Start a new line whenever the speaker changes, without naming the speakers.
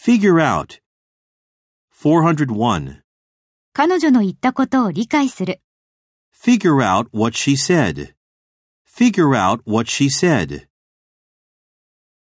Figure out. 401.
彼女の言ったことを理解する。
Figure out what she said. Figure out what she said.